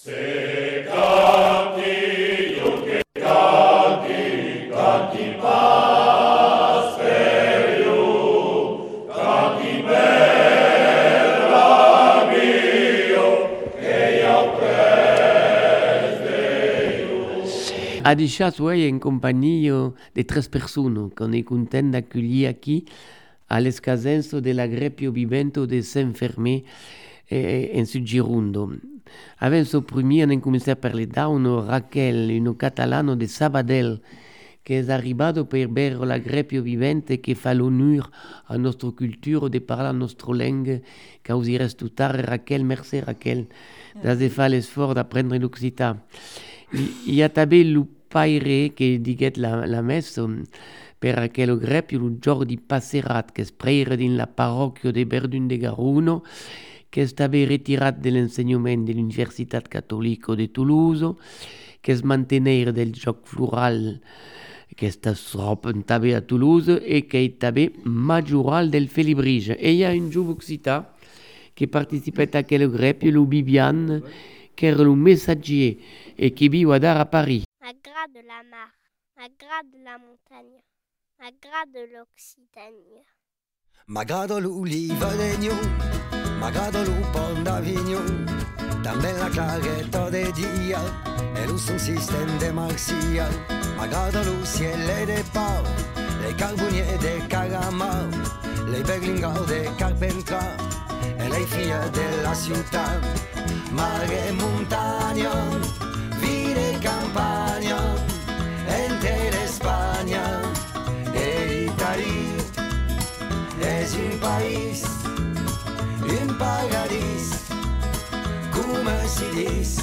A deixat en compagnie de 3 personnes qu'on est content d'accueillir ici à l'escasenzo dell'Agrepio Vivento de Saint-Fermé in Sud-Girondo. Adesso prima abbiamo cominciato a parlare da Raquel, un catalano de Sabadell, che è arrivato per bere l'Agrepio Vivente che fa l'onore a nostra cultura de parlare la nostra lingua, che osi restare Raquel, merci Raquel, da fare l'esforzo d'apprendere l'Occità. Il y a també il paire che diguet la messa per aquel grepio il giorno di passerat che spreira in la parrocchia de Verdun de Garuno che è stato ritirato dall'insegnamento dell'Università Cattolica di Toulouse che è mantenere del gioco floral che sta també a Toulouse e che è també majoral del Félibrige. E il y a un giovane occità che partecipa a aquel grepio, lo Bibiane, che era un messager et qui vit à Paris. À gras de la mare, à gras de la montagne, à gras de l'Occitanie. M'agrada l'oliva d'Egno, m'agrada lo pont d'Avignon, també la claretta de dia e lo son système de Marcia. M'agrada lo ciel de Pau, les carboniers de Caramau, les berlingaux de Carpentras e le filles de la ciutat. Mare e montagna, vide e campagna, intera Spagna e l'Italia. És un país, un paradís, come si dice,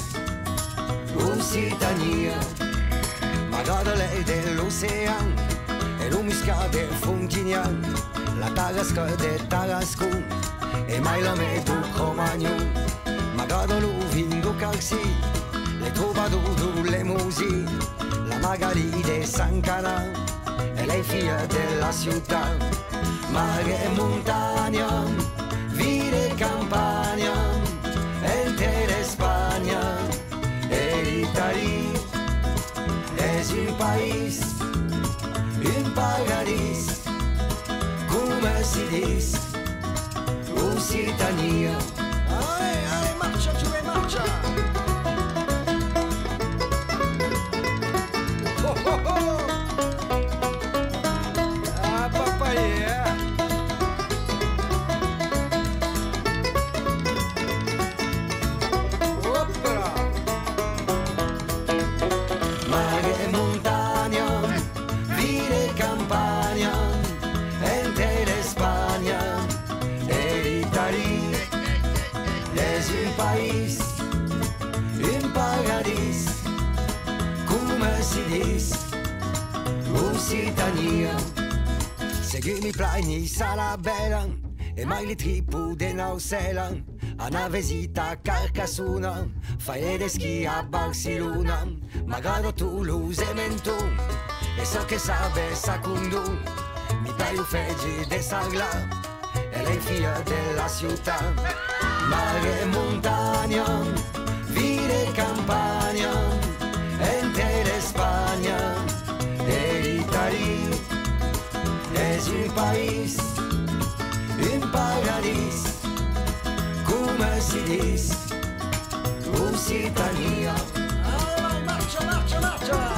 Occitania. M'agrada l'air de l'ocean e lo misca de Fontignan, la Tarasca de Tarascon e mai la metto Cromagnon. M'agrada lo vin do Carsi, le troubadours, le musique, la Magali de San Canal e le figlie della città. Mare e montagna, vide e campagna, intera Spagna e l'Italia. És un país, un paradís, come si dice, Occitania. Ale, marcia, giù e marcia! Oh, oh, oh! Ah, papaya! Mare e montagna, vide e campagna, intera Spagna e l'Italia. És un país, un paradís, come si dice, Occitania. Seguimi plani sarà bella e mai li tripu de Nausela. A una visita a Carcassona, fai de schi a Barcellona. M'agrada Toulouse e Menton, e so che sabe Sacundun. Mi paio feggi de Sagla, e le figlie della città. Mare e montagna, vide e campagna, intera Spagna e l'Italia. És un país, un paradís, come si dice, Occitania. Allora, marcia, marcia, marcia!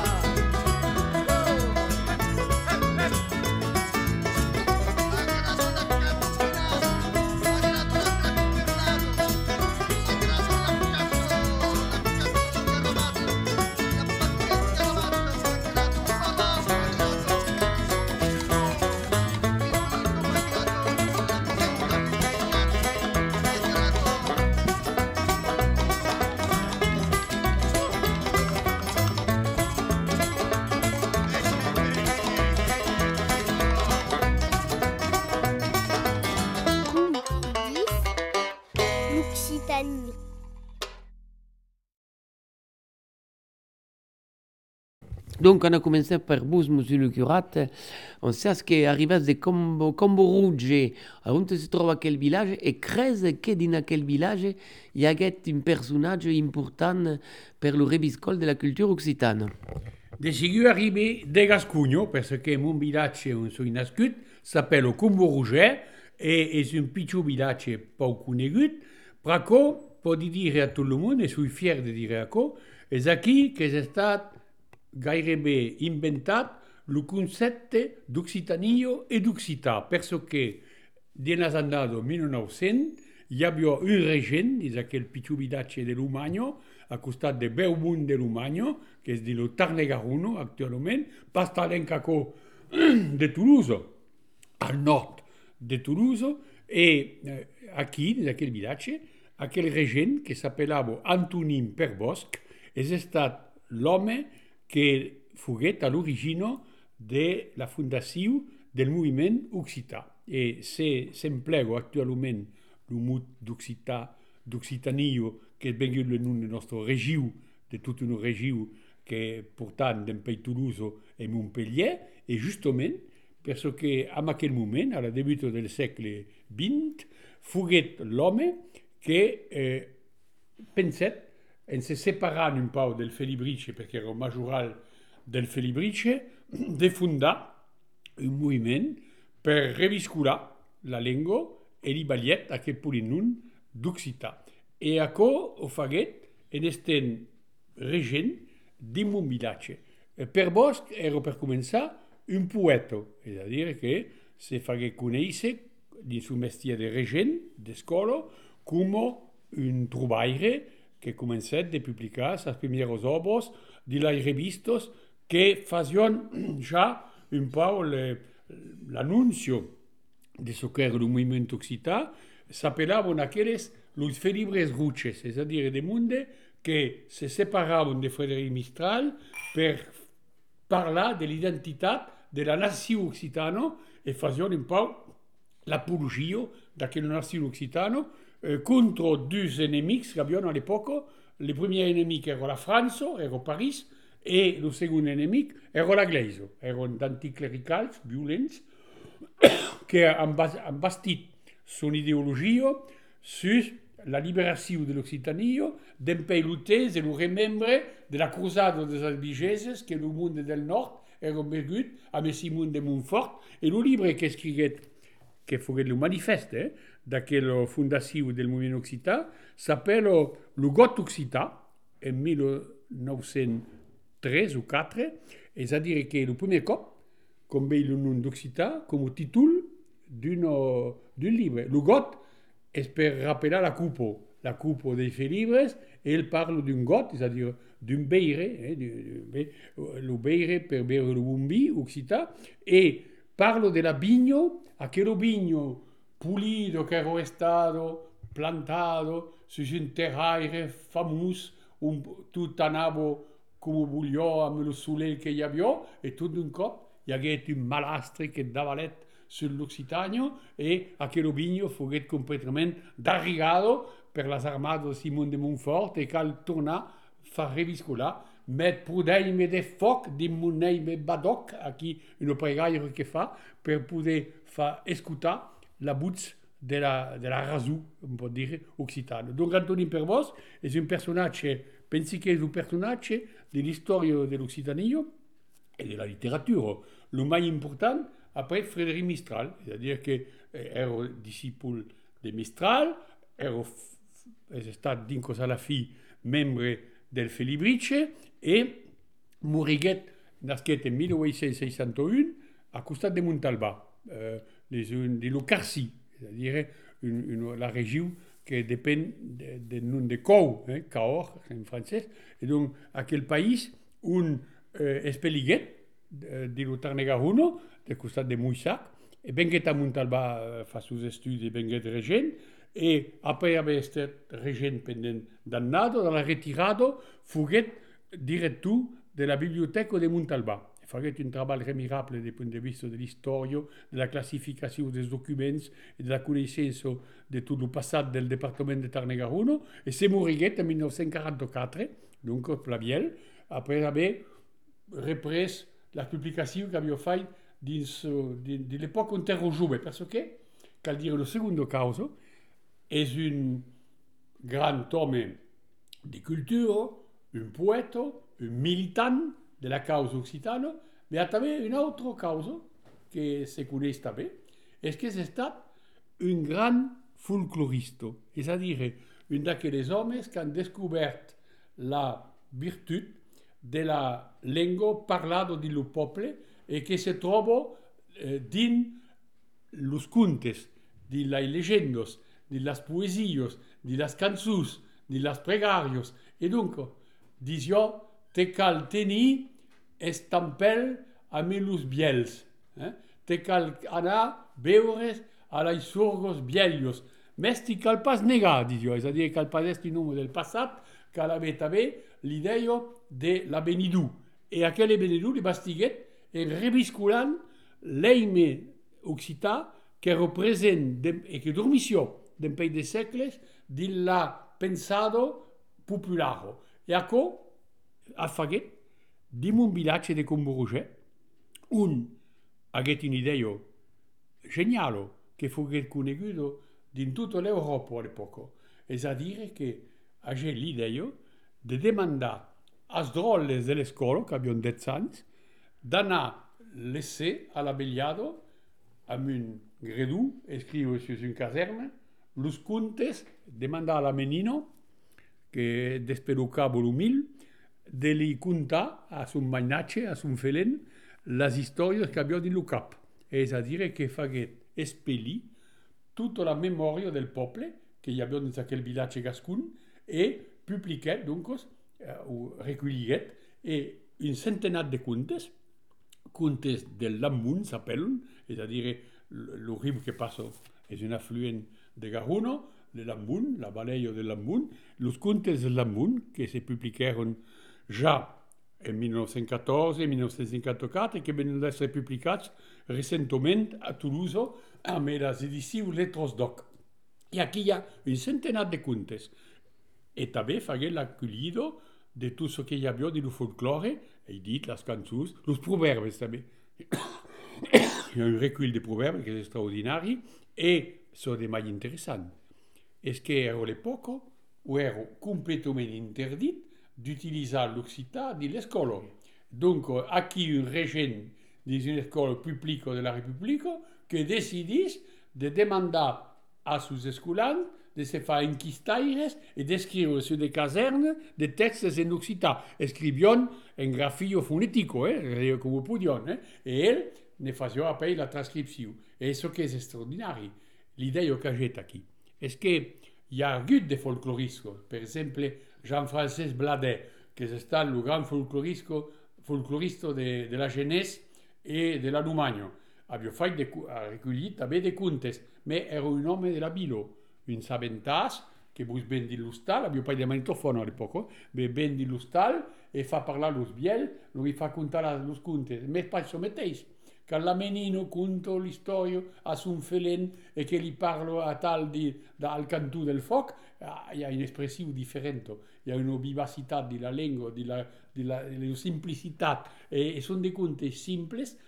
Donc, on a commencé per vous, monsieur le curate. On sait che arriva de Combo Rouge, on si trova quel village, e crese che in quel village il y a un personnage important per le reviscol de la culture occitane. De sigur arrivé de Gascugno, parce que mon village on s'est nascut, s'appelle Combo Rouge, et est un petit village pas conegut. Praco, peut dire à tout le monde, et je suis fier de dire à quoi, és aquí que és estat gairebé inventat el concepte d'Occitanio e d'Occità, perché dins l'anno 1900 hi havia un regent dins aquell pitjor vilatge de l'Umagno, a costat de Beaumont de l'Umagno, que és de lo Tarn-et-Garonne actualment, pas talent caco de Toulouse, al nord de Toulouse, e aquí, dins aquell vilatge, aquell regent que s'appellava Antonin Perbosc, és estat l'home que foguet a l'origine de la fundació del moviment occità. E s'emplega actualment el mot d'Occitanio, que és vengut el nom de nostra regió, de tota una regió que portant d'en Pays Toulouse e Montpellier, e justament perquè en aquell moment, a la debut del segle XX, foguet l'home que penset en se separant un peu del Felibrice, perquè era el majoral del Felibrice, de fundar un moviment per reviscular la llengua e li valiet aquest polinom d'occità. E aquò ho faguet en estent regent dins mon vilatge. Per Bosch era per començar un poeta, és a dir que se faguet conèixer dins un mestier de regent d'escola com un trobaire que començat de publicar les primeres obres de les revistes que facien ja un peu l'annuncio de ce que era el moviment occità, s'apellaven aquelles los Felibres Ruches, és a dir, de monde que se separaven de Frédéric Mistral per parlar de l'identitat de la nació occitana e facien un peu l'apologia d'aquella nació occitana contre deux ennemis que havien a l'època. Le premier ennemi era la França, era París, e el segon enemic era l'Església. Eren d'anticlericals violents que han bastit son ideologia sur la liberació de l'Occitania, d'en peiloters e el remembre de la cruzada des albigeses que el món del nord era vengut amb Simon de Montfort, e el llibre que escriguet, que foguet el manifeste d'aquella fundació del moviment occità, s'appelle Le Got occità, en 1903 o 4, és a dir que el primer cop com veig el nom d'occità com a títol d'un llibre. Le Got és per rappelar la coupe des Felibres, et il parle d'un got, és a dir d'un beire, le beire per beure le bon vi occità, e parlo de la vigno, aquel vigno pulido que era stato plantato su un terraire famós, tot anava com vogliò amb el soleil que hi havia, e tot d'un cop hi hagué un malastre que davalet sur l'Occitània, e aquel vigno foguet completament darrigado per les armades de Simon de Montfort, e cal tornar fa reviscolar, met prudeime de foc de moneime badoc, aquí una pregaire que fa, per poder fa escutar la voz de la raison, on peut dire, occitane. Donc Antonin Perbosc és un personatge, pensi que és un personatge de l'història de l'Occitania et de la littérature. Le mai important, après Frédéric Mistral, c'est-à-dire que era disciple de Mistral, és estat dins a la fi membre del Felibrice, e moriguet nasquet en 1861 a costat de Montalbà, de l'Ocarcí, c'est-à-dire la région que dépend del nom de Cahors, Cahors en francès, et donc aquell país on espeliguet de lo Tarn-et-Garonne, de costat de Moissac, e venguet a Montalbà fa sus estudis, venguet regent, e après haver estat regent pendent d'annada, dans la retirada, foguet director de la biblioteca de Montalbà. Faguet un treball remirable des point de vista de l'història, de la classificació dels documents i de la coneixença de tot el passat del departament de Tarn-et-Garonne, e se moriguet en 1944, donc Plaviel, après haver repres la publicació que havia fet de l'època on ero jove, perquè, cal dire, el secondo causa és un grand home de cultura, un poeta, un militant de la causa occitana, ma també una altra causa que se coneix també, és que és estat un gran folclorista, és a dir, un d'aquells homes que han descobert la virtut de la llengua parlada del poble e che si troba din los contes, de las leyendas, de las poesías, de las cançons, de las pregàries. E donc, disió, te cal tenir estampel amb los biels. Te cal anar a veure a les sorgos biellos. Més te cal pas negar, disió, és a dir, cal pas esti nom del passat, cal haver també l'idea de l'avenidor. E aquell avenidor li bastiguet en revisculant l'eime occità que representa e che dormissió d'un paio de segles de la pensado popolare. E acò ha faguet dim un vilatge de Combourget un haguet un'idea geniale che fuguet coneguda in tutta l'Europa all'epoca. És a dire che hagué l'idea de demandar als drolles de l'escola, que havien 10 anys, d'anar laisser a la vegliada amb un gredú, escriure sur un caserna, los contes, demandar a la menina, que despelucava l'humil, de li contar a son mainatge, a son felen, les històries que havia dins el cap. És a dir, que faguet expellir tota la memòria del poble que hi havia dins aquell vilatge gascun e publiquet, doncs, o reculliguet, un centenat de contes de l'Ammun s'appellen, és a dir, el riu que passa és un afluent de Garonne, de l'Ammun, la vallée de l'Ammun, els contes de l'Ammun que se publiqueren ja en 1914 i 1954 i que venen d'esser publicats recentment a Toulouse amb les edicions Lettres Doc. I aquí hi ha un centenat de contes. E també fagué l'acollida de tot ce que hi havia del folklore, he dit, les cançons, els proverbes també. Hi ha un recull de proverbes que és extraordinari e so de mai interessant. És que era l'època où era completament interdit d'utilitzar l'occità de l'escola. Donc, aquí un régent d'une école publique de la République que decidís de demandar a sus escolans de se faire enquistaires et d'escriure sur des casernes des textes en occità. Escrivion en grafio fonetico, com ho podion, et ell ne faisait appel la transcripció. Et ce que és extraordinari, l'idea que j'ai aquí, és que hi ha hagut de folcloristes. Per exemple, Jean-François Bladet, que és estat el gran folclorista de la Genèse i de l'Allemagne. Havia recollit també de contes, però era un home de la vila, un sabentàs que vos ven de l'hostal, havia pas de magnetofon a l'època, ven de l'hostal e fa parlar los biel, li fa contar los contes. Més pas això mateix, que la menina conta l'història a son felen e que li parla a tal al cantó del foc, hi ha una expressió diferent, hi ha una vivacitat de la llengua, de la simplicitat, e són de contes simples,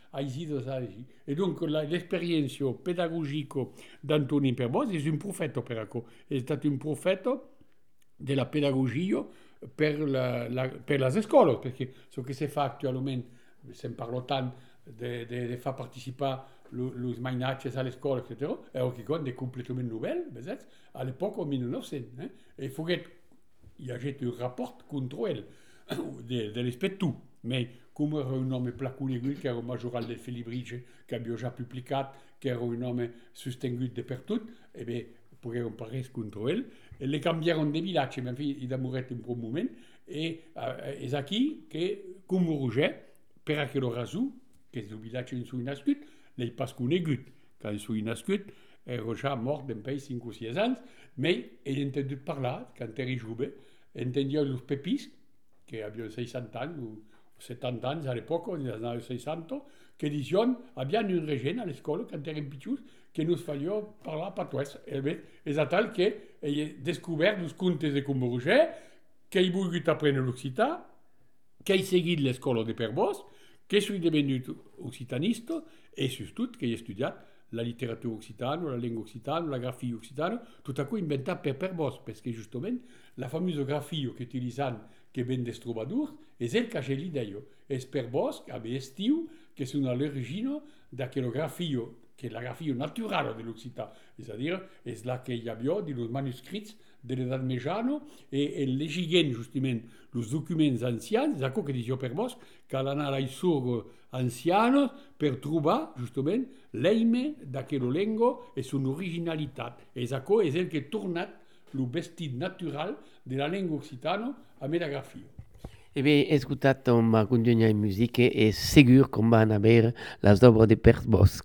et donc l'expérience pédagogique d'Antoni Perbos és un profeta per això, és estat un profeta de la pedagogia per les escoles, perquè el que se fa actualment, se'n parla tant de fer participar els mainatges a l'escola, etc., era quelqu'un de completament nouvel, a l'època, en 1900. Et hi ha un rapport contra ell, de l'inspector, mais com era un home pla conegut, que era un majoral del Felibridge, que havia ja publicat, que era un home sostingut de per tot, e bé, pogueren parlar contra ell, e le canviaron de vilatge, mais en fi, il a moret un bon moment, e és aquí que Combourget, per aquella raó, que és el vilatge on s'hi nascut, l'he pas conegut. Quan s'hi nascut, era ja mort d'un país 5 o 6 anys, però he entendut parlar, quan era jove, entendia els pepis, que havien 60 anys o 70 anys a l'època, en els anys 60, que diuen, havien un regent a l'escola, quan eren pitjors, que nos falia parlar patois. És a tal que he descobert els contes de Combourget, que he volgut aprendre l'occità, che hai seguit l'escola de Per Bosch, che sei divenuto occitanista e soprattutto che hai studiato la letteratura occitana, la lingua occitana, la grafia occitana, tutto ciò inventato per Bosch, perché giustamente la famosa grafia che utilizzano, che viene des troubadours, è il che c'è l'idea. E per Bosch aveva stiu che sono all'origine da quella grafia, che è la grafia naturale dell'Occità, c'est-à-dire è la che abbiamo di los manoscrits dell'età mediana e leggendo giustamente i documenti anziani, ecco che dicevo per Bosch, che hanno i suoi anziani per trovare giustamente l'eime da quella lingua e son originalità. E ecco è il che è tornato il vestito naturale della lingua occitana a me la grafia. E beh, ascoltato una condigna di musica e sicuro che vanno a vedere le opere di Per Bosch.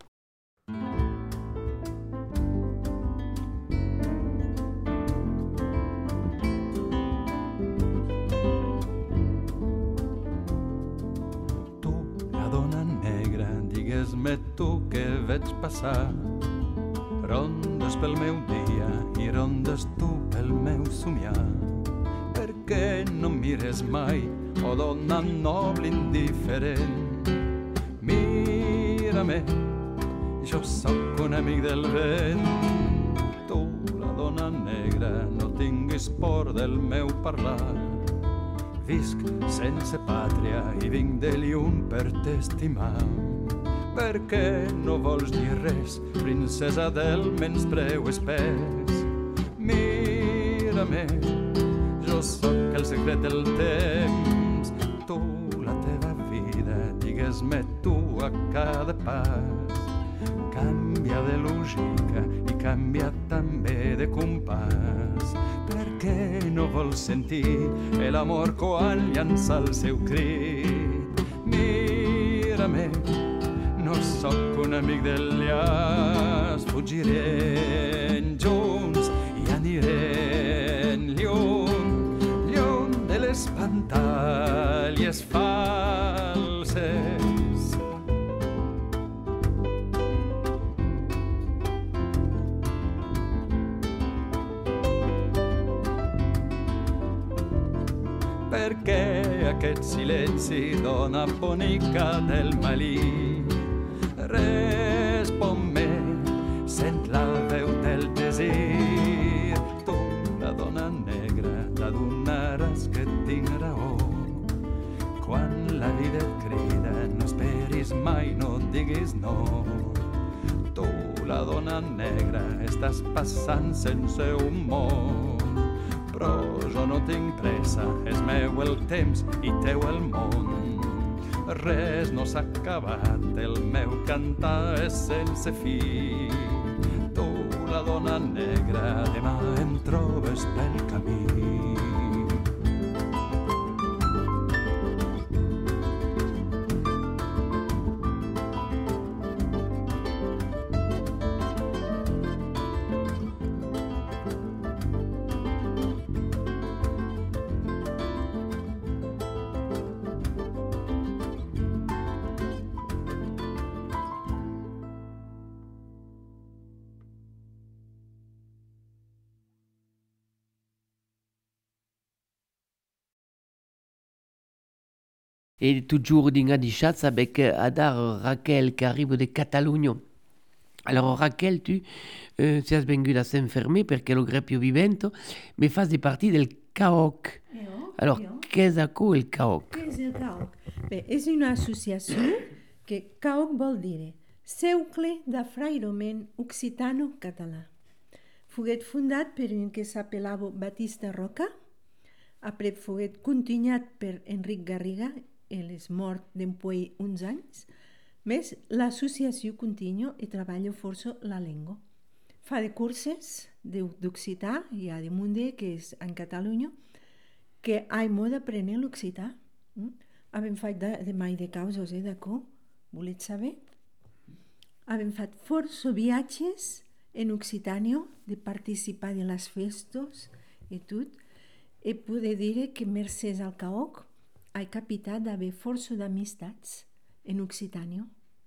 Digues-me tu què veig passar, rondes pel meu dia i rondes tu pel meu somiar. Per què no mires mai, oh dona noble indiferent? Mira-me, jo sóc un amic del vent. Tu, la dona negra, no tinguis por del meu parlar. Visc sense pàtria i vinc de lluny per t'estimar. Per què no vols dir res, princesa del menyspreu espès? Mira-me, jo sóc el secret del temps. Tu, la teva vida, digues-me tu a cada pas. Canvia de lògica i canvia també de compàs. Per què no vols sentir l'amor quan llança el seu crit? Mira-me, no sóc un amic del llaç, fugirem junts i anirem lluny, lluny de les pantalles falses. Per què aquest silenci, dona bonica del Malí? Respon-me, sent la veu del desir. Tu, la dona negra, t'adonaràs que tinc raó. Quan la vida et crida, no esperis mai, no diguis no. Tu, la dona negra, estàs passant sense humor. Però jo no tinc pressa, és meu el temps i teu el món. Res no s'ha acabat, el meu cantar és sense fi. Tu, la dona negra, demà em trobes pel camí. Et toujours dans des chats avec Adar Raquel qui arrive de Catalunya. Alors Raquel, tu sei venuta a s'enfermer perché lo greppio vivento, mais fas partie del CAOC. Alors, qu'est-ce que el CAOC? Què és el CAOC? Bé, és una associació que CAOC vol dir Cercle d'Afrairament Occitano-Català. Foguet fundat per un que s'apelava Batista Roca, après foguet continuat per Enric Garriga, ell és mort d'empuei uns anys, més l'associació continua i treballa força la llengua. Fa de curses d'occità, hi ha de munde, que és en Catalunya, que hi ha d'aprendre l'occità. Hem fet de mai de causes, d'acord? Voleu saber? Hem fet força viatges en Occitània, de participar de les festes i tot, i poder dir que mercès al CAOC he capitat d'haver força d'amistats en Occitània.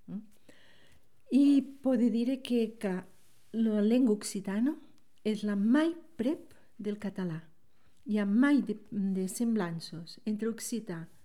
I poder dir que la llengua occitana és la mai prep del català. Hi ha mai de semblances entre occità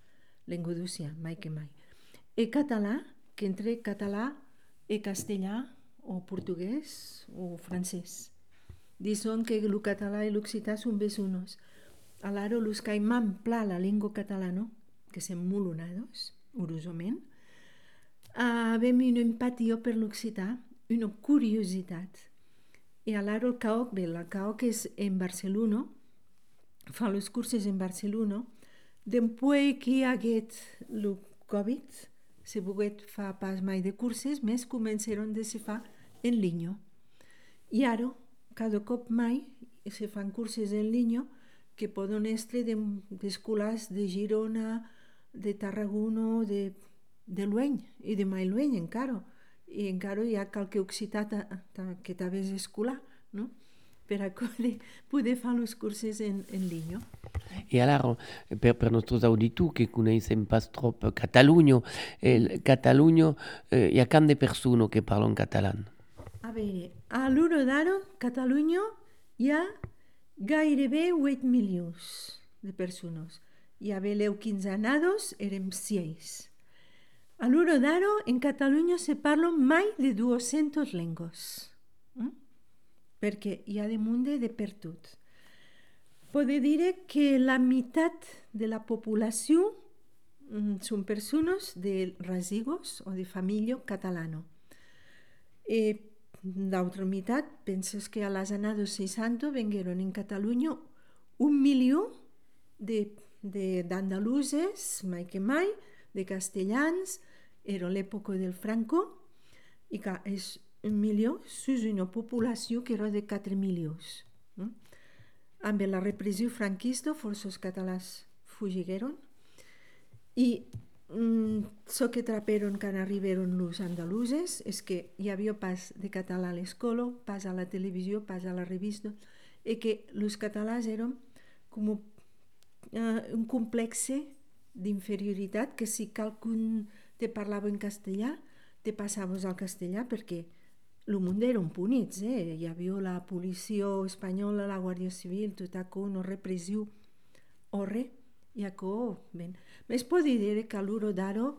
Lengo d'Ocia, mai que mai. E català, que entre català e castellà, o portuguès, o francès. Dicen que el català i l'occità són vecinos. Alaro, los caimán pla la lengua catalano, que sem mulunados, urosament, avem una empatia per l'occità, una curiositat. I alaro el CAOC, bé, la CAOC és en Barcelona, fa els cursos en Barcelona, després que hi hagués el Covid, se poguet fa pas mai de cursos, més començaron de se fa en línia. I ara, cada cop mai, se fan cursos en línia que poden estar d'escolars de Girona, de Tarragona, de Lueny i de mai Lueny encara. I encara hi ha qualque occità que també és escolar, no? Per a poder fer els cursos en línia. E allora, per nostri auditori che conoscono pas trop Catalunya, hi ha quante persone che parlano catalano? A veure, a l'hora d'ara, Catalunya hi ha gairebé 8 milions de persones. I a veleu quinzanados érem 6. A l'hora d'ara, en Catalunya se parlen mai de 200 llengües. Perquè hi ha de munt de per tot. Podem dir que la meitat de la població són persones de residus o de família catalana. L'altra meitat, penses que a les anades 60 vengueren en Catalunya 1 milió d'andaluses, mai que mai, de castellans, era l'època del Franco, i que és 1 milió sus una població que era de 4 milions. Amb la repressió franquista, forços catalans fugigueren i el que traperen quan arribaren els andaluses és que hi havia pas de català a l'escola, pas a la televisió, pas a la revista, i que els catalans eren com un complex d'inferioritat, que si qualcun te parlava en castellà, te passaves al castellà perquè el món eren punits, hi havia la policia espanyola, la Guàrdia Civil, tot això, una repressió horre, i això, ben. Més pot dir que a l'hora d'ara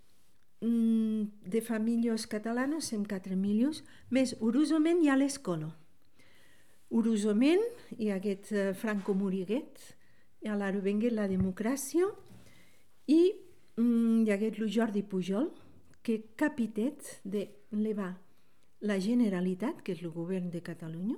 de famílies catalanes som 4 milions, més orosament hi ha l'escola. Orosament hi ha aquest Franco Moriguet, i a l'ara vengué la democràcia, i hi ha aquest Jordi Pujol, que capitet de levar la Generalitat, que és el govern de Catalunya.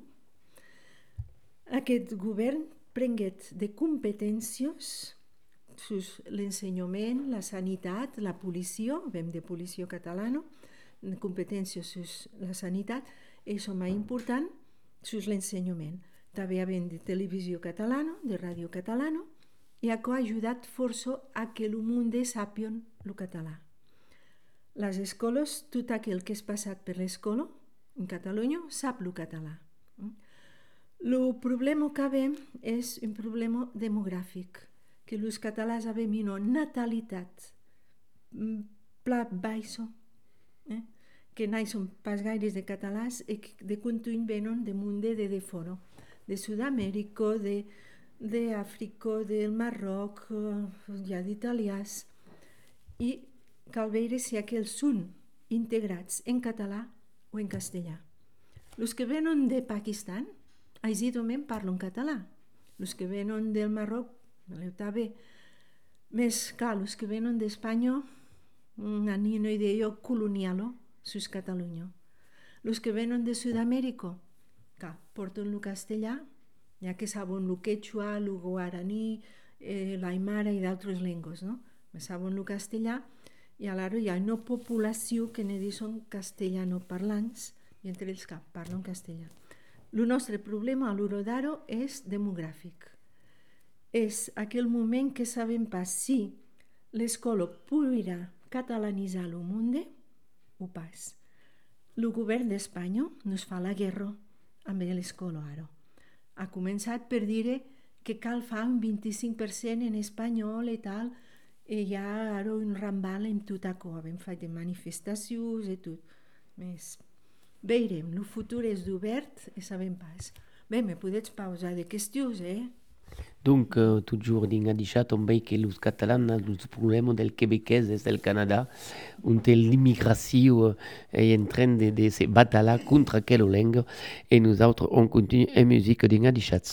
Aquest govern prenguet de competències sus l'ensenyament, la sanitat, la policia, vem de policia catalana, competències sus la sanitat, i això més important, sus l'ensenyament. També havent de televisió catalana, de ràdio catalana, i això ha ajudat força a que el món sàpien el català. Les escoles, tot aquell que és passat per l'escola, en Catalunya, sap el català. El problema que veiem és un problema demogràfic, que els catalans havem una natalitat pla baixa, que no són pas gaires de catalans i que de contuny venen de munt de fora, de Sud-amèrica, d'Àfrica, del Marroc, ja d'italians, i cal veure si aquells són integrats en català o en castellà. Els que venen de Pakistan, aisidament parlen català. Els que venen del Marroc, també. Més clar, els que venen d'Espanya, han una idea colonial sus Catalunya. Els que venen de Sud-amèrica, que porten el castellà, ja que saben el quechua, el guaraní, l'aimara i d'altres llengües, no? Saben el castellà, i alhora hi ha una població que ne diuen castellanoparlants, i entre ells que parlen castellà. El nostre problema a l'hora d'ara és demogràfic. És aquell moment que sabem pas si l'escola podrà catalanitzar el món o pas. El govern d'Espanya nos fa la guerra amb l'escola ara. Ha començat per dir que cal fer un 25% en espanyol i tal, i hi ha ara un rambal en tot això, hem fet manifestacions i tot. Més veurem, el futur és d'obert i sabem pas. Bé, me podets pausar de qüestions, Donc, toujours din adichat on veut que los catalans los problèmes del québécois et del Canada, on l'immigration est en train de se battre contre quelle langue, et nous autres, on continue en musique din adichat.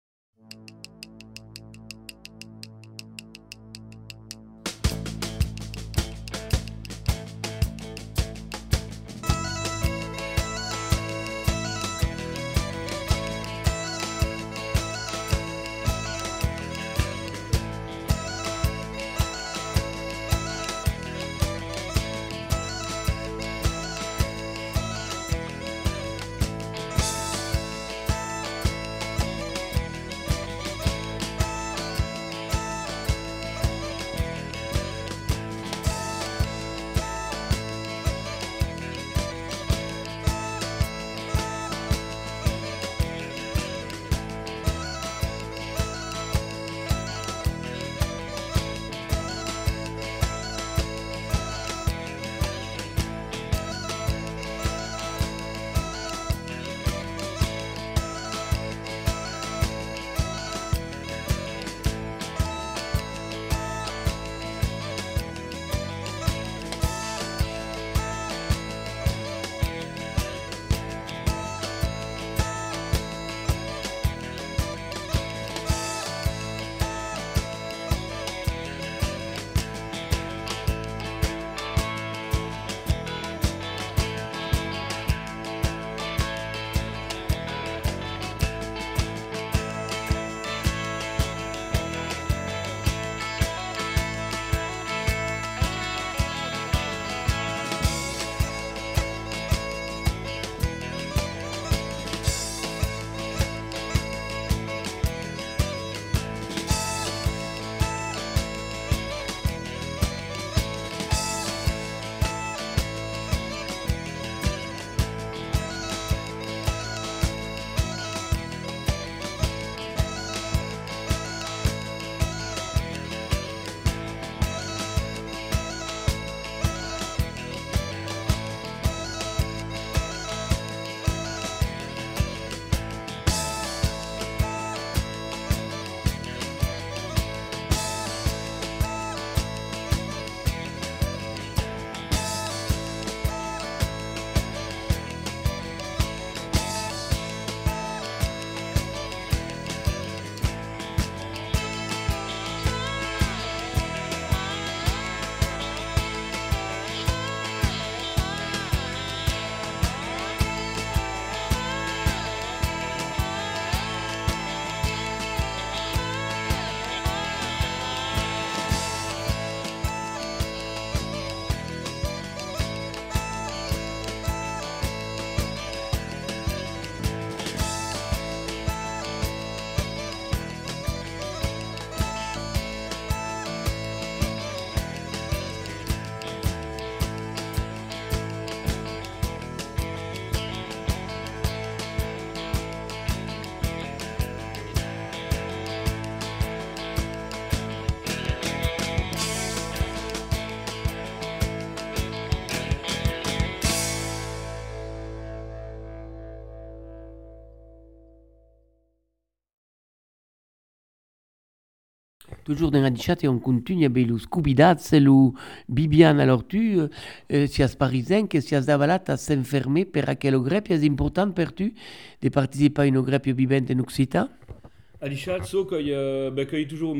Toujours dans la chat et on continue avec le Scooby-Doo, c'est le Bibiane. Alors tu, si es parisien, que si es d'avalat à s'enfermer per aquel grep, est important per tu de participer à une grep vivente en Occitan? A dichat so qu'il y a toujours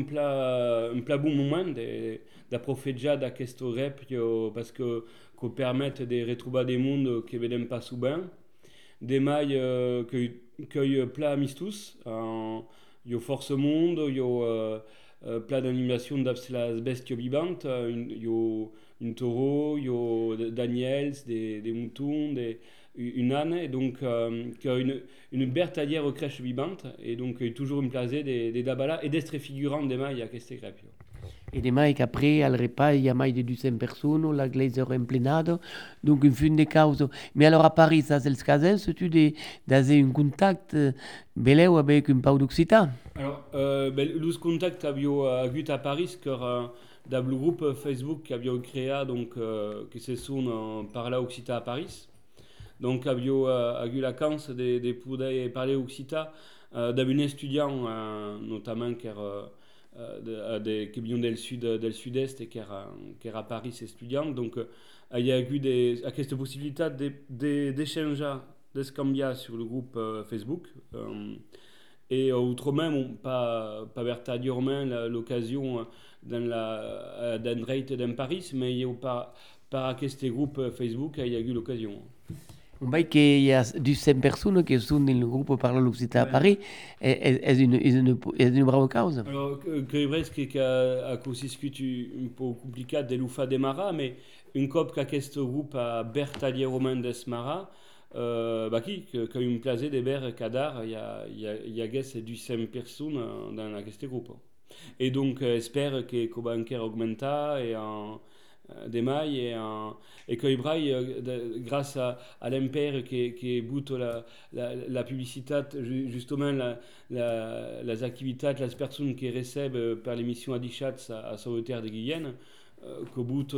un plat bon moment d'approfitjar d'aquest rep parce que permet de retrouver des mondes que vedem pas souvent. Des mailles que plat amistus, il y a force monde, il y a plat d'animation d'abslas bestio vivante, il y a un taureau, il y a Daniels, des moutons, une âne, et donc une bertalière aux crèches vivantes, et donc toujours une place des dabala et d'estre figurant des mailles à queste grepio. Et demais qu'après, al repas, il y a mai de 200 personnes, la glaise est emplenada, donc une fin de cause. Mais alors à Paris, ça c'est le cas, tu d'avoir un contact beleu avec un pau d'Occitan? Alors, le contact abbiamo avuto à Paris, car dans le groupe Facebook qu'abbiamo créé, donc que se sont parla Occitan à Paris. Donc abbiamo eu la chance de pouvoir parler Occitan d'un étudiant, notamment qui vient du sud-est et qui est à Paris, étudiant. Donc, il y a eu cette possibilité d'échanger, de se cambier sur le groupe Facebook. Et autrement, pas véritablement l'occasion d'entrer dans Paris, mais il y a par ce groupe Facebook, il y a eu l'occasion. On voit qu'il y a 200 personnes qui sont dans le groupe Parlant l'Occitan à Paris. Est une brave cause. Alors, c'est vrai qu'il y a aussi un peu compliqué de l'UFA de Mara, mais une cop qu'à ce groupe à Bertalier Romain d'Esmara, qui a une place de Ber Cadar, il y a 200 personnes dans ce groupe. Et donc, j'espère que va encore augmenter des mailles et que grâce à l'empire qui boute la publicité, justement les activités, les personnes qui reçoivent par l'émission Adichat à Sauveterre de Guyenne, que boute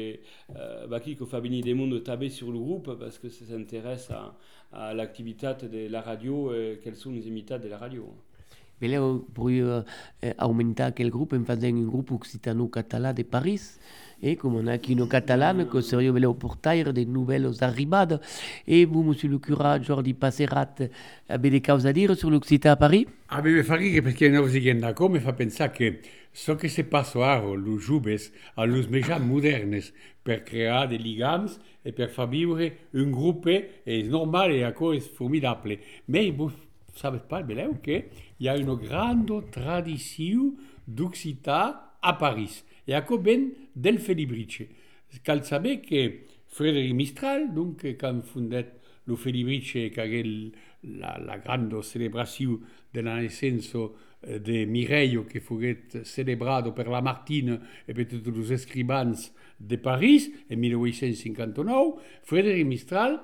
qui fait venir des mondes taber sur le groupe parce que ça s'intéresse à l'activité de la radio et quelles sont les imitats de la radio. Voleu augmentar aquell grup en faisant un grup occitano-català de Paris. Et comme on a aquí no catalan, que seria voleu portar de nouvelles arribades. Et vous, monsieur le curà Jordi Passerat, avez des causes à dire sur l'Occitan à Paris? A me fa ridere perché non si d'accord mi fa pensare che so che se passo aro los jubes a los mejans modernes per creare dei ligams e per far vivere un gruppo è normale e a cosa è formidabile. Ma vous savez pas, beleu, che il y a une grande tradition d'Occitan à Paris. E a co ben del Felibrice. Cal saber che Frédéric Mistral, donc, quand fondet lo Felibrice, che la grande célébration de la naissance de Mireio, che furet celebrato per Lamartine e per tutti los escribans de Paris, en 1859, Frédéric Mistral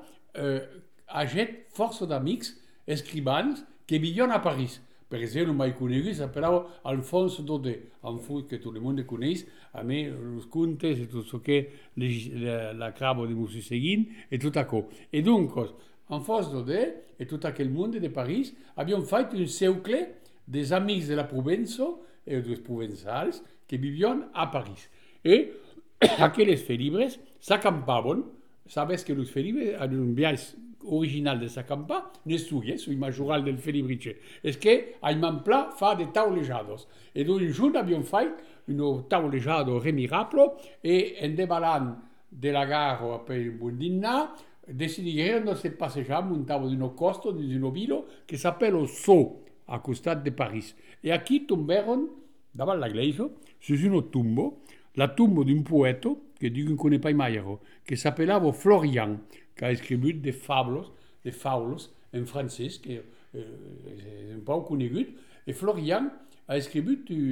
aget força d'amics escribans que vivion a Paris. Per exemple, mai conegut s'appellava Alphonse Daudet, que tout le monde coneix, a me, los contes et tout ce que la crabo de Monsieur Seguin et tout à coup. Et donc, Alphonse Daudet et tout aquel monde de Paris avions fait un cercle des amis de la Provenço et des provençals qui vivions à Paris. Et aquelles felibres s'acampaven, sabes que los felibres avaient un viatge original de s'acampar, n'estudia, sui majoral del Felibrice. És que Ayman Pla fa de taulejados. Et donc un jour avions fait un taulejado remirable et en devalant de la gare après un bon dîner, decidirono de se passejar muntavo d'un costo d'un vilo que s'appelle Sceaux, a costat de Paris. Et aquí tomberon, davant la iglesia, sur un tombo, la tombe d'un poète que Dieu ne connaît pas mai, que s'appellava Florian, qui a écrit des faules en français, qui est un peu connu. Et Florian a écrit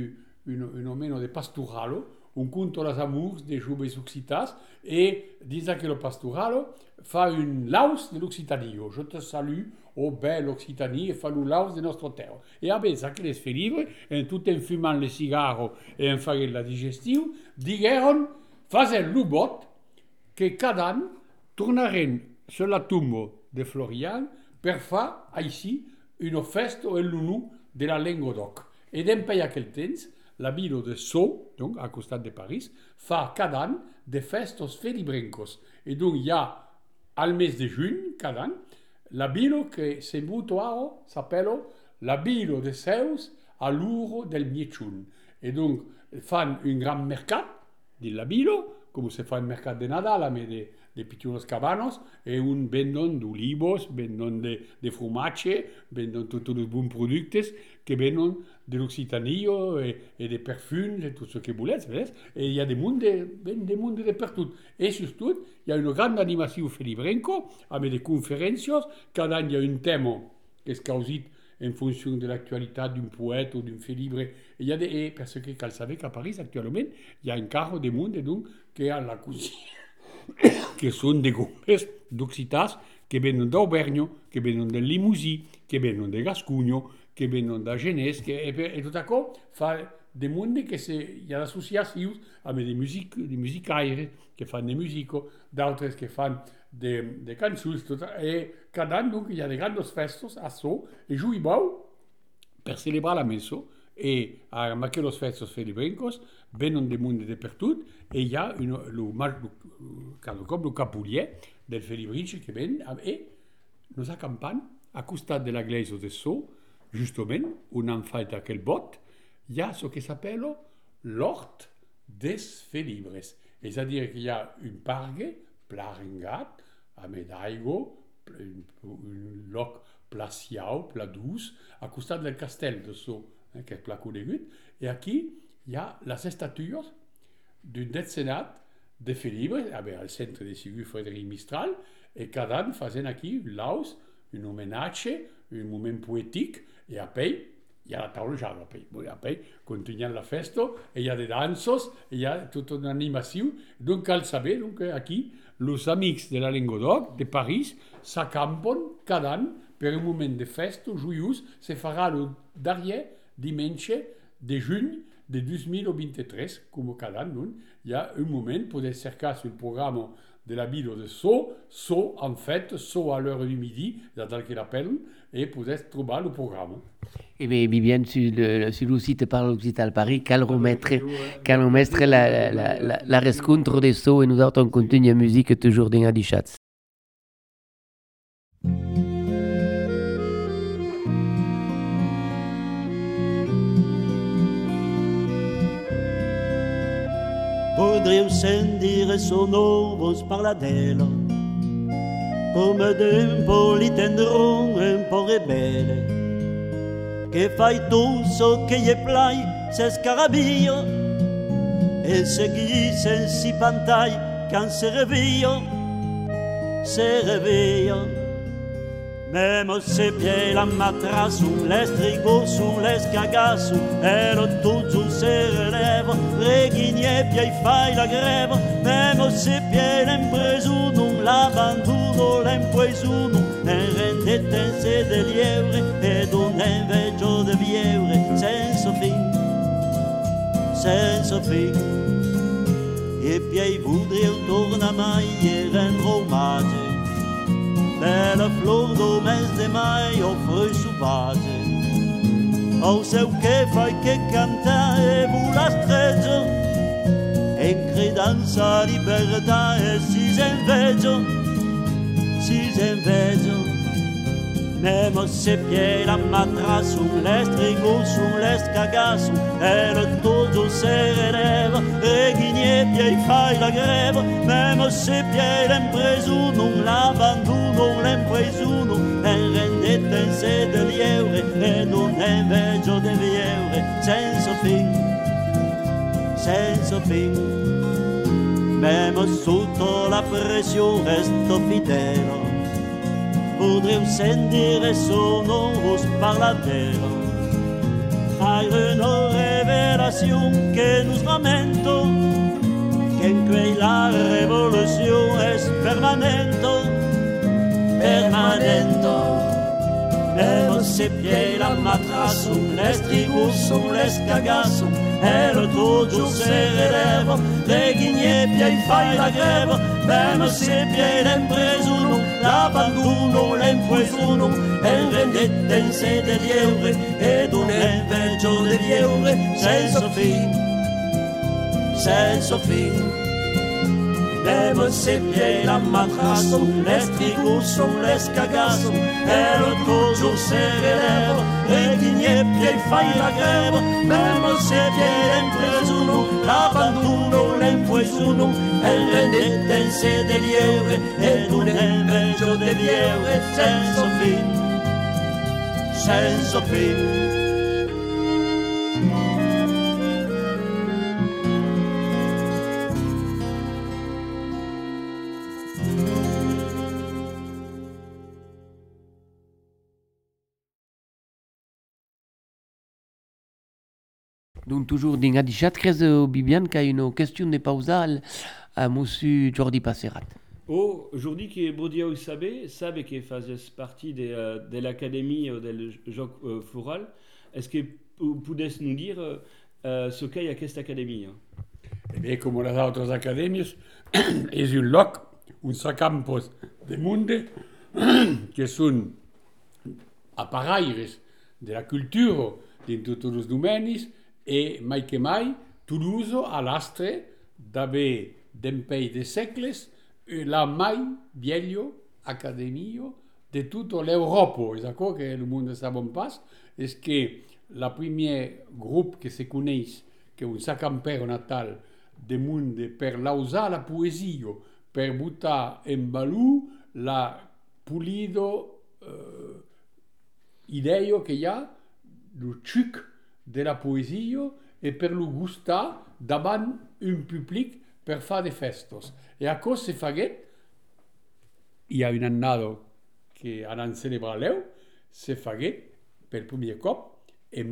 un homme de pastoralo, un conte les amours des joves occitas, et disant que le pastoralo fa une laus de l'Occitanio. Je te salue, ô belle Occitanie, et fa une laus de notre terre. Et avec ça, que les fait livre, tout en fumant les cigares et en faisant la digestion, dijeron, faisant l'ubot, que cada an tornaren sur la tombe de Florian per fa, ici, une festa en l'unu de la Languedoc. Et d'empay aquel temps, la ville de Sceaux, donc à costat de Paris, fa cada an de festos felibrencos. Et donc il y a, al mes de juin, cada an, la ville que se mutuao s'appelle la ville de Zeus a l'uro del Miechun. Et donc, fan un grand mercat de la ville, comme se fa un mercat de Nadal, mais de picciolos cabanos, et un vendon d'olivos, vendon de fromatge, vendon tots els bons productes que venen de l'Occitanio et de perfums et tout ce que voleu, et il y a des mondes de partout. Et surtout, il y a une grande animation felibrenco, avec des conférences, cada any il y a un thème que est causé en fonction de l'actualité d'un poète ou d'un félibre. Et parce que, cal savez qu'à Paris, actuellement, il y a un carro de monde donc, qui a la cuisine. Que sont des groupes d'Occitas qui viennent d'Auvergne, qui viennent de Limousin, qui viennent de Gascugno, qui viennent de Genèse, et tout à coup, fa des mondes que il y a l'association avec des musicaires qui font des musiques, d'autres qui font des cançons, et cada an, donc, il y a des grandes festes à Sceaux, et jouent beau, per celebrar la messo e a aquellos festos felibrincos venen de monde de per tot e hi ha cada cop el capulier del felibrinci che ven e nos acampant a costat de la iglesia de So, justament, on han fet aquel bot, hi ha ce que s'appelle l'hort des felibres. És a dir, que hi ha un parc pla rengat, amb d'aigua, un lloc pla siau, pla dus, a costat del castell de So, que és pla conegut, i aquí hi ha les estatues d'un decenat de felibres, al centre de Sigur Frederic Mistral, e cada any fent aquí un laus, un homenatge, un moment poètic, i après hi ha la taula ja, après continuen la festa, i hi ha de dansos, i hi ha tota una animació, donc cal saber que aquí els amics de la Languedoc, de París, s'acampen cada any per un moment de festa joiós, se farà el darrer diumenge de juny de 2023, com cada any, hi ha un moment, podeu cercar sur el programa de la ville de So en fait, So à l'heure du midi, c'est tel qu'il appelle, et podeu trouver le programme. Et bien, Viviane, sur le site Parle Occitan Paris, cal remettre la rescontre de So et nous autres on continue la musique toujours dans Adichatz. Podríeu sentir sonor vos parladela, come d'un politendron un po' rebelle, che fai tu so che gli plai se scarabia, e segui sensi pantai can se revia, Même se pieds la matras les strigos sous les cagassu e lo tutto se releva reghigne piei fai la greva même se pieds l'impreso non l'abbandono l'impresuno e rendete se de lievre e d'un inveggio de vievre senza fin e piei vudri torna mai e rendro omage bella flor do mes de mai offre sauvage o seu che fai che canta e vola streggia e credanza libertà e si inveggio Même se pieds la matra sul estrigo sul escagasso e lo todo se releva e ghigne piei fai la greva Même se pieds l'impreso non l'abbandono l'impresuno e rendete in sede lievre e non inveggio de vievre senza fin Même sotto la pressione resto fidele Podreu sentire sono vos parladero Hai una revelazione che nos lamento Che in quei la rivoluzione è permanente Même se pieds la matrasso l'estrigo sull'escagasso e lo toggio se releva le ghigne piei fai la greva Même se pieds l'impresuno l'abbandono l'impresuno e rendette in sede lievre ed un inveggio de lievre senza fin Même se pieds la matrasso l'estrigo sull'escagasso e lo toggio se releva le ghigne piei fai la greva Même se pieds l'impresuno l'abbandono l'impresuno e rendette in sede lievre ed un inveggio de lievre senza fin Donc toujours dans Adichat, Bibiane, qui a une question de pausa à Monsieur Jordi Passerat. Aujourd'hui, qui est Bodia sabe que faisait partie de l'académie del joc floral. Est-ce que vous pouvez nous dire ce qu'il y a cette académie? Eh bien, comme les autres académies, c'est un loc, un campus de monde qui sont appareils de la cultura in tutti i domeni e mai che mai Toulouse ha l'astre d'avere dempei de secles la mai vieglio accademia de tutta l'Europa. E ça che il mondo sa bon pas è che la premier groupe che si conosce che è un sacampero natal de monde per lausare la poesia, per buttare in balù la pulido idea che ha lo ciuc della poesia e per lo gustare davanti un pubblico per fare dei festos. E a cosa si fa? Il y a un annado che hanno celebrato, si fa per il primo cop en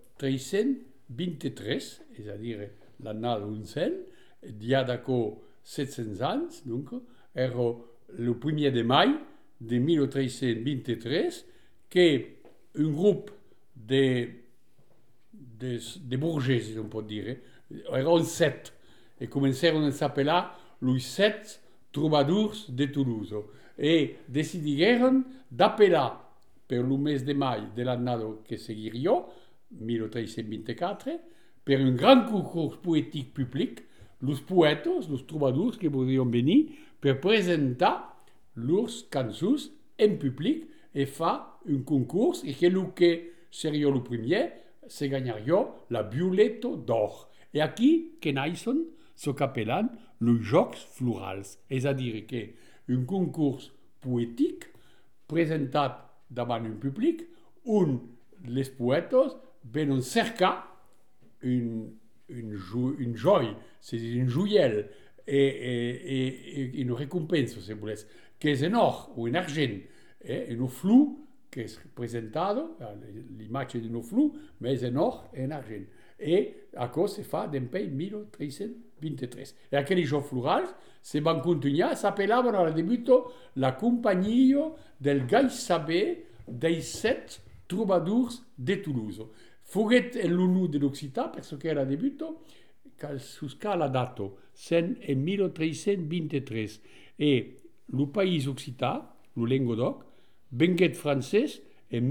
1323, c'est-à-dire l'annado uncel, dia d'acco 700 anys, donc, era le 1er de mai de 1323 che un gruppo de bourgeois, si on peut dire, erano 7 e cominciarono a s'appelar los 7 troubadours de Toulouse e decidirono d'appelar per il mese de mai dell'anno che seguiria, 1324, per un gran concours poétique public, los poetes, los troubadours che podrien venir per presentar lors cançons en public e fa un concours e quello che seria il premier se gagnaria la Biuletto d'Or. E aquí che naixen ce qu'appellan los Jocs Florals, és a dir que un concours poètic presentat davant un public on les poètes venen cercar une joie, c'est un joiel et une récompense, si volete, che è en or o en argent, un flou che è presentato, l'immagine di un flou, ma è en or e en argent. E a cosa si fa dempei 1323. E aquelli giochi florali si van continuare, s'appelavano al debutto la compagnia del gai saber dei 7 troubadours de Toulouse. Fuget l'unu dell'Occità, perché era debutto, su scala dato, sen en 1323. E il paese Occità, il Languedoc, venguet francès en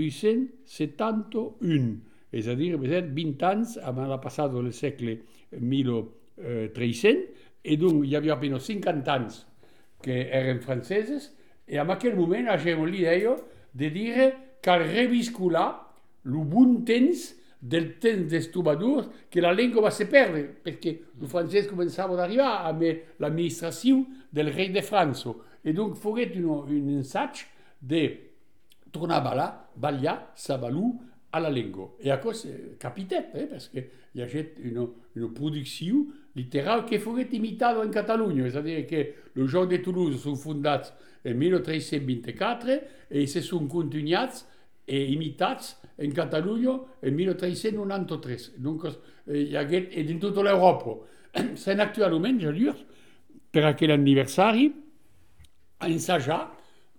1271. És a dir, 20 anys abans la passada del segle 1300, e donc hi havia apenas 50 anys que eren franceses, e en aquell moment havien l'idea de dir cal reviscular el bon temps del temps dels troubadours, que la llengua va se perdre, perquè el francès començava a arribar amb l'administració del rei de França. E donc foguet un ensaig de tornar a ballar sa balú a la llengua. E a cosa capitet, perquè hi ha una producció literal que foguet imitada en Catalunya, és a dir, que els Jocs de Toulouse són fundats en 1324 i se són continuats e imitats en Catalunya en 1393. Donc, hi ha en tota l'Europa. S'han actualment, ja dius, per aquell aniversari, ensajar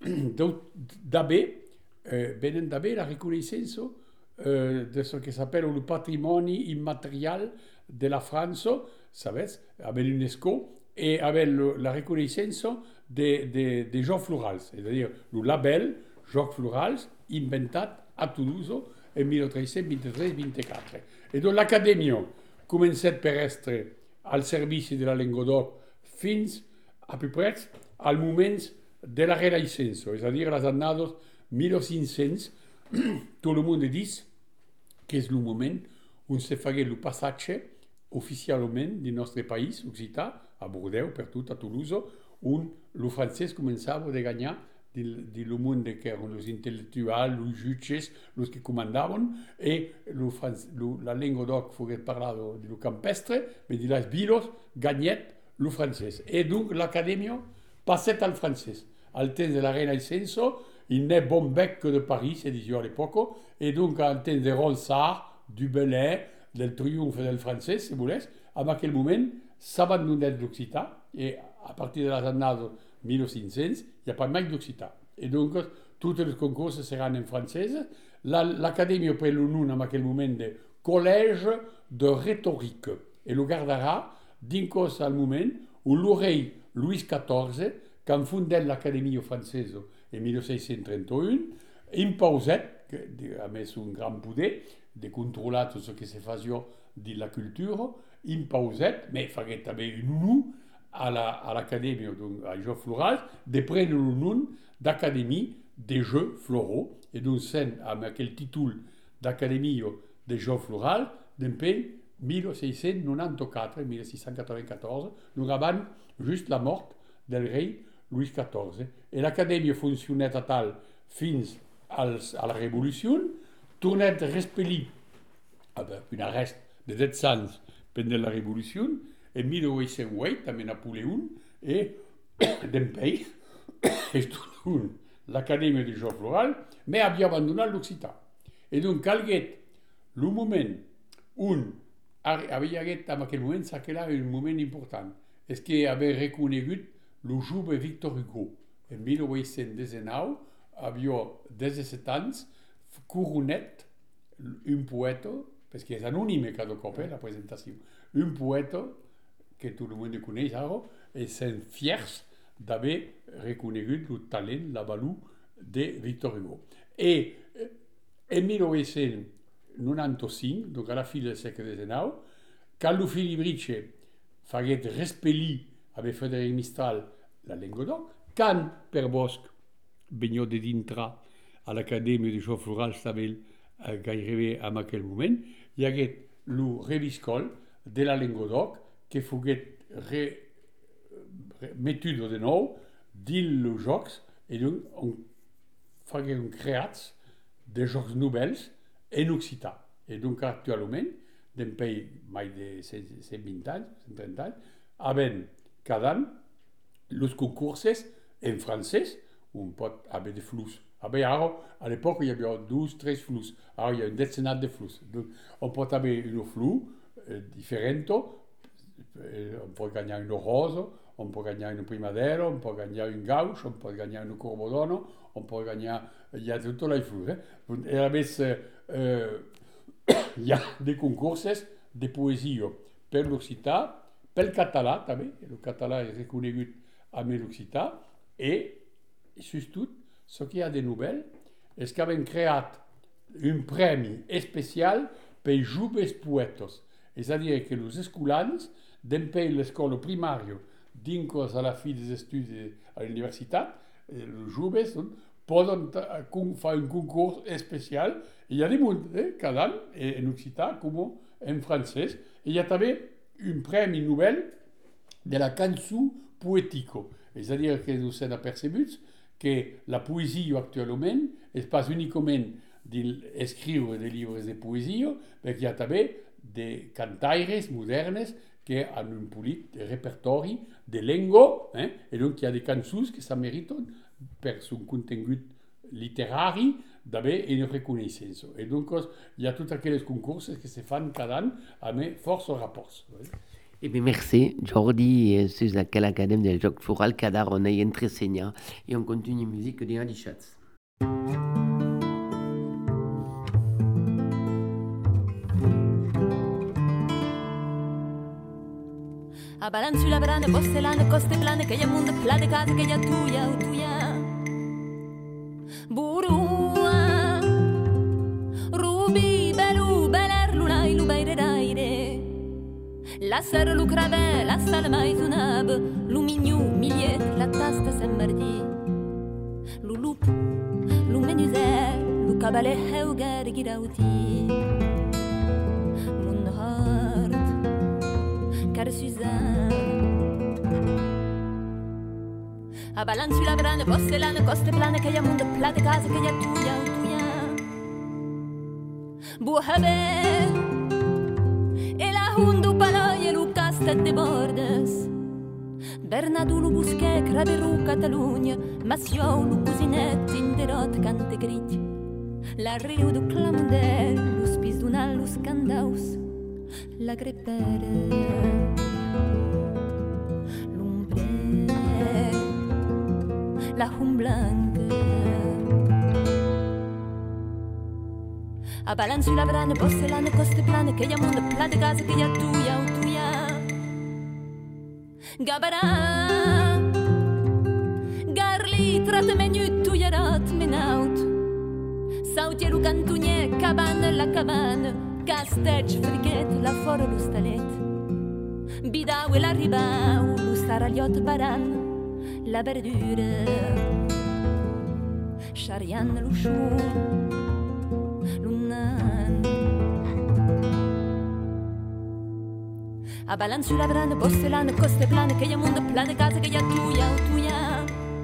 venen d'haver la reconnaissance de ce que s'appelle le patrimoni immaterial de la France, sabes, avec l'UNESCO, et avec la reconnaissance des Jocs Florals, c'est-à-dire le label Jocs Florals inventat a Toulouse en 1323-24. Et donc l'acadèmia començat per estar al servici de la Languedoc fins a peu près al moment de la Renaissance, és a dir, les années 1500, tot el món diu que és el moment on se fagué el passatge oficialment del nostre país, Occità, a Bordeaux, per tot a Toulouse, on el francès començava a guanyar del món que eren els intel·lectuals, els jutges, els que comandaven, i la Languedoc foguet parlada del campestre, però de les viles guanyat el francès. I donc l'acadèmia passat al francès. Al temps de la Renaissance, il n'est bon bec que de Paris, se disait à l'époque, et donc al temps de Ronsard, du Bellay, del triomphe del francès, si voleu, en aquell moment s'abandonnait l'Occità, et a partir de les années 1500, il n'y a pas mal d'Occità. Et donc, tots els concours seran en francès. L'acadèmia pren el nom en aquell moment de Collège de Rhétorique, et le gardarà dins al moment où le rei Louis XIV, quand fondat l'acadèmia française en 1631, in pauset, a messo un gran poder de controlar tot ce que se facia de la cultura, in pauset, mais faguet també un nom a l'acadèmia a Jocs Florals, de prendre le nom d'acadèmie de Jeux Floraux, et donc sent amb aquell títol d'acadèmia de Jocs Florals, d'empeny 1694-1694, donc avant just la mort del rei Louis XIV. Et l'acadèmia funcionèt a tal fins a la Revolució, tornèt respellit un arrest de 10 anys pendant la Revolució, en 1808, amb Napoleon, et d'empeny es tornà l'acadèmia de Jocs Florals, mais havia abandonat l'Occità. Et donc calguet le moment on havia haguet en aquell moment, s'aquela un moment important, és que havia reconegut le jove Victor Hugo. En 1819 havia 17 anys coronet un poeta, parce que és anònime cada cop la presentació, un poeta que tot el món coneix ara, i sent fiers d'haver reconegut el talent, la valor de Victor Hugo. Et en 1895, donc à la fin del segle XIX, Carlo Filibrice faguet respellir avec Frédéric Mistral la Languedoc, quand Per Bosch venia de dintre a l'Acadèmia de Jocs Florals també gairebé en aquell moment, hi hagué el reviscol de la Languedoc que foguet metut de nou dins els jocs, i donc on fagueren creats de jocs nouvels en occità. Et donc actualment, d'un pays mai de 120 anys, 130 anys, havent cada any els concursos en francès, on pot haver de flux. Ara, a l'époque, il y avait 12-13 flux. Ara, il y a une décenade de flux. Donc, on peut avoir une flux différente. On peut gagner une rose, on peut gagner une primavera, on peut gagner une gauche, on peut gagner une corbedono, on peut gagner... Il y a tous les flux. Et a més, il y a des concours de poésie per l'occità, pel català també. El català és reconegut amb l'occità. Et, surtout, ce qu'il y a de nouvelles, és que havem creat un premi especial per joves poetes. És a dir, que els escolans d'empeny l'escola primària dins a la fi dels estudis a la universitat, els joves poden fer un concurs especial. Hi ha de munt, cada any, en occità com en francès. Hi ha també un premi novel de la cançó poètica. És a dir, que nous hem apercebut que la poésie actuellement n'est pas uniquement d'écrire des livres de poésie, mais qu'il y a aussi des cantaires modernes qui ont un petit répertoire de langue, et donc il y a des chansons qui ça méritent per son contenu littéraire d'avoir une reconnaissance. Et donc il y a tous aquells concours qui se font cada an avec force rapports. Eh bien, merci, Jordi, sur laquelle l'Académie des Jocs Florals cada on est entresegna et on continue musique de Andy Schatz. A balanço la brana, postelana, coste plane, que hi ha munt de pla de casa, que hi ha tuya, o tuya. Burua, rubi, belu, beler, lulai, lubaireraire. La serre, lu crave, la sala maizunab, lu mignou, miliet, la tasta semmardi. Lu lup, lu menuzè, lu cabale heugar girauti. Mun hart, car Suzanne. A balanço la brana, postelana, coste plane, que hi ha munt de pla de casa, que hi ha tuya, o tuya. Buhabe, e la hundu paloie, lu castet de bordes. Bernadou, lu busquet, craverou, Catalunya, Massiou, lu cousinet, inderot, cante grit. La riu du clamundel, lu spis dunal, lu scandaus, la grepere. La hum blanca. A balanço la brana, postelana, coste plane, que hi ha munt de pla de casa, que hi ha tuya, o tuya. Gabarà, garli, trate menut, tuyarat, menaut. Sautier lo cantunier, cabane la cabane, castech, frichet, la fora lo stalet. Bidau e l'arribau, lo staragliot baran, la verdura. Charian lo chou, l'unan. A balan sulla brana, porcelana, coste plane, che ya mondo plane, casa che ya tuya, o tuya.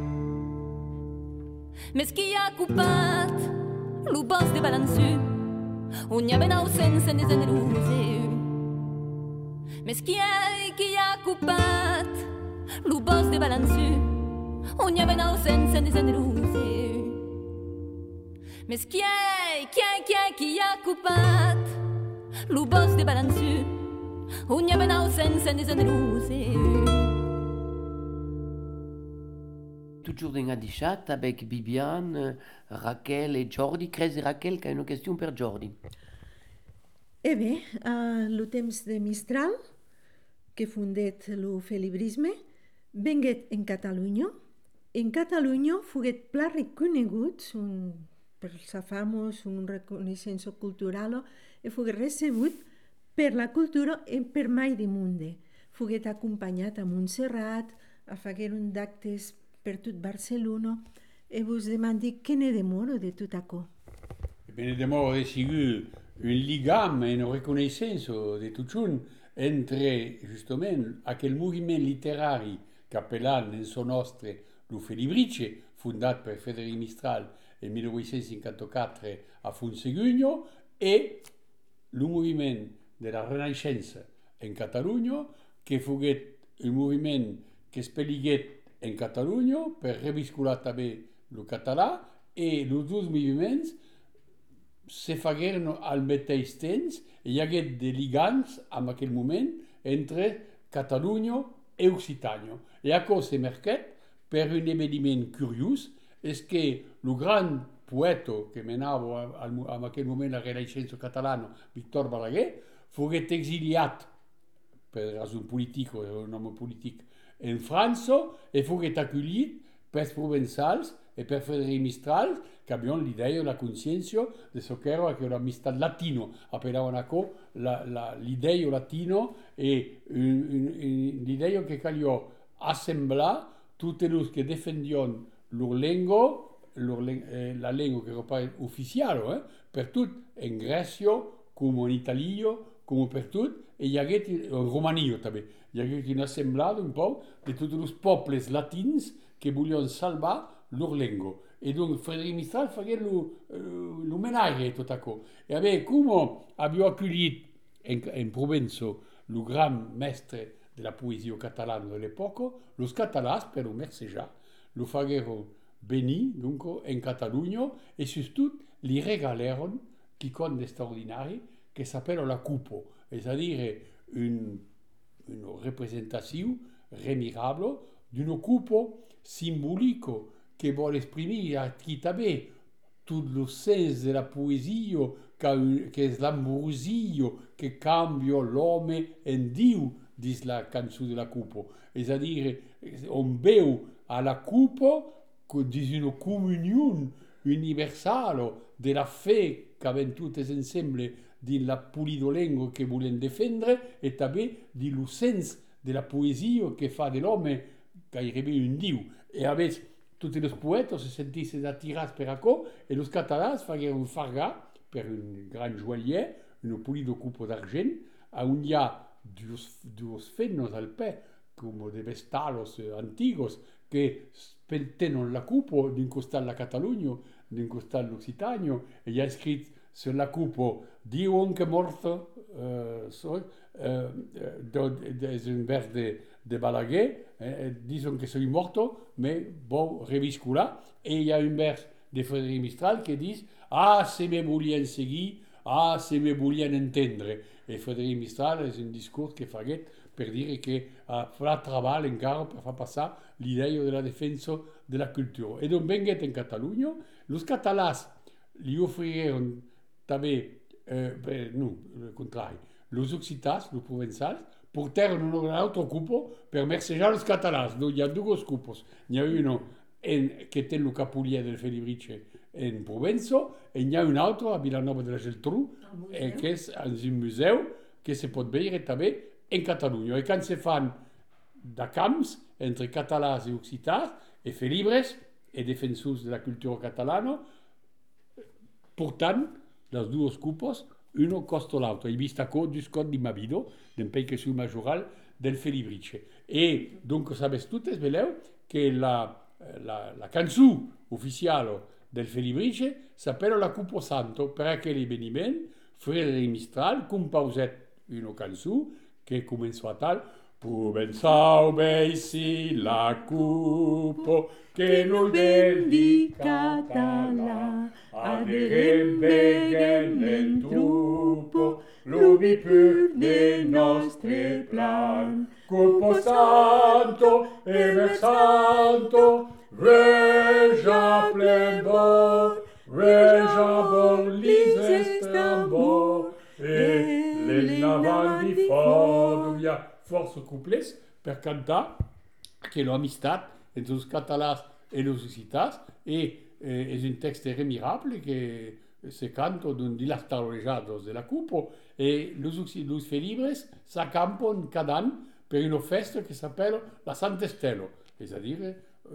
Mes qui a coupat, lo boss de balansu, on y a ben senza ne generose. Mes qui a coupat, lo boss de balansu, on y a ben senza ne generose. Mes qui a coupat, lo boss de balansu, on y a ben senza ne generose. Toujours dans Adichat avec Bibiane, Raquel et Jordi. Cres et Raquel, qui a une question pour Jordi. Eh bé, lo temps de Mistral, que fundet lo felibrisme, venguet en Catalunya. En Catalunya foguet pla reconegut per sa famos, un reconeixença cultural, e foguet recebut per la cultura e per mai de munde. Foguet acompanyat a Montserrat, a fagueren d'actes per tot Barcelona, e vos demandi que ne demoro de tot aquò. Ne demoro de sigur un ligam e una reconnaissance de tot junt entre, justament, aquel moviment literari capellan en son nostre lo Felibrice, fundat per Frédéric Mistral en 1854 a Funsegugno, e lo moviment de la Renaixença en Catalunya, que foguet un moviment que es peliguet en Catalunya per reviscular també el català, e els dos moviments se fagueren al mateix temps i hi hagué de ligants en aquell moment entre Catalunya e Occitània. I això se marcat per un eveniment curiós, és que el gran poeta que menava en aquell moment la Renaixença catalana, Víctor Balaguer, foguet exiliat per raison politique, un home polític, en França, e foguet acollit per provençals e per Frédéric Mistral, que havien l'idea de la consciència de ce que era l'amistat latino. Apelaven això l'idea latina e l'idea que calia assemblar tots els que defendien leur llengua, la llengua que era pas oficial, per tot, en Grècia, com en Itàlia, com per tot, e hi hagué en Romania també. Hi hagué un assemblat un poc de tots els pobles latins que volien salvar leur llengua. Et donc Frédéric Mistral fagué l'homenatge a tot això. E bé, com havia acollit en Provença el gran mestre de la poesia catalana de l'època, els catalans, per mercejar, lo fagueren venir donc, en Catalunya e surtout li regalaren quelqu'un d'extraordinari que s'appelle la Cupo, c'est-à-dire une représentation remirable d'une coupe symbolique qui vol exprimer qui també tout le sens de la poésie que és l'ambrosia que canvia l'homme en Dieu dins la cançó de la coupe, c'est-à-dire on veu a la coupe dins une communion universale de la fe qu'avem totes ensemble dins la polidolengua que volem defendre e també dins el sens de la poesia que fa de l'home gairebé un diu. E a més, tots els poetes se sentissin atirats per això e els catalans fagueren fargar per un gran joaillier, una polida coupe d'argent, on hi ha dos fenos al peu, com de vestalos antigos, que tenen la coupe d'un costat la Catalunya, d'un costat l'Occitània, e hi ha escrit sur la coupe diuen que morto és un vers de Balaguer, diuen que soy morto, mais bon, reviscular, e hi ha un vers de Frédéric Mistral que diu se me volien seguir, se me volien entendre. E Frédéric Mistral és un discurs que faguet per dir que farà treball encara per fer passar l'idea de la defensa de la cultura. E doncs venguet en Catalunya, els catalans li ofriren també, no, el contrari, els occitans, els provençals, portaren una altra coupe per mercejar els catalans. No, hi ha dues cupes. N'hi ha una que té el capulier del Felibrice en Provenço, e n'hi ha un altre a Vilanova de la Geltrú, que és un museu que se pot veure també en Catalunya. I quan se fan de camps entre catalans i occitans, e fer llibres e defensors de la cultura catalana, portant les dues cupos, uno costa l'altro. He vist acò dus cot di Mavido, d'empei que sou majoral del Felibrice. E, donc, sabes totes, veleu, que la cançó oficial del Felibrice s'appella la Cupo Santo, per aquell eveniment, Frere i Mistral, compauset una cançó que començó a tal: Provençau beissi la Cupo, che non vendi català, aderem veguen en trupo, l'ubi pur del nostre plan. Cupo Santo, Ever Santo, Regia plebor, Regia bolises tambor, e l'enavant di fort. Hi ha força couplets per cantar que l'amistat entre els catalans i els occitans és un text remirable que se canta di las tarolejados de la Cupo e los felibres s'accampen cada any per una festa que s'appella la Sant'Estelo, és a dir,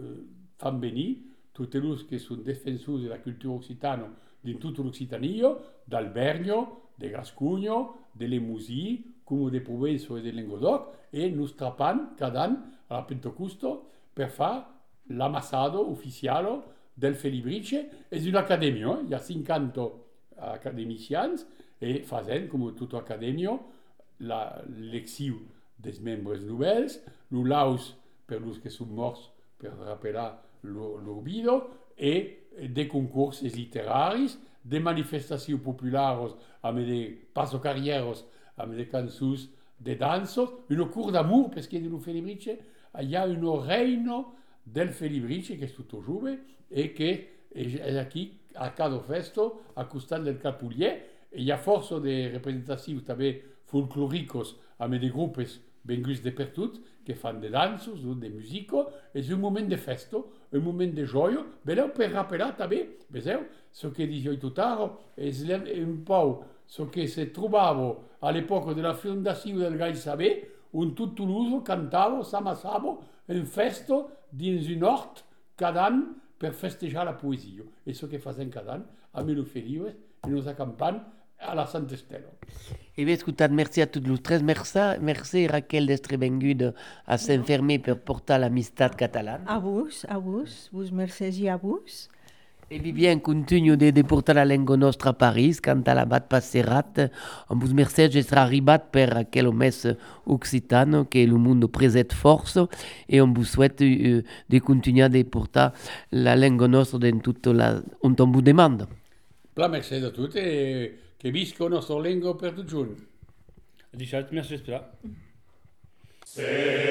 fan venir tutti els que són defensors de la cultura occitana di tutto l'Occitania, d'Albernio, de Gascugno, de Lemousie, come de Provenço e de Languedoc, e nos trapan cada any a la Pentecosto per fare l'ammassado ufficiale del Felibrice. És un'acadèmia, hi ha 50 academicians e facen, com tota acadèmia, l'elecció dels membres novells, l'ulaus per els que són morts per rappelar l'orbido, e de concursos literaris, de manifestacions populares amb de passocarrieros, amb de cançons de dansos, un cours d'amour, perquè del Felibrice hi ha un reino del Felibrice que és tot jove e que és aquí a cada festa al costat del Capullier, e hi ha força de representacions també folclòricos amb de grupos venguts de per tot que fan de dansos, de musica. És un moment de festa, un moment de joia. Veleu per rappelar també, veieu, ce que dic jo tot ara, és un peu ce que se trobava a l'època de la fundació del Gai Saber, on tot Toulouse cantava, s'amassava en festa dins un hort cada any per festejar la poesia. És ce que facem cada any amb els felibres i nos acampant a la Sant'Estelo. E bé, escoltat, merci a tots els tres. Merci Raquel d'Estrebenguda a s'enfermer per portar l'amistat catalana. A vos, mercès i a vos. E Vivien continu de portar la lengua nostra a París, quand a l'abat passerat, amb vos mercès estarà arribat per aquell mes occitano que el mundo preset força e on vos souhaite de continuar de portar la lengua nostra en tota on vos demanda. Pla mercè de tot e que visca la nostra lengua per tot junt. Richard, merci, j'espère.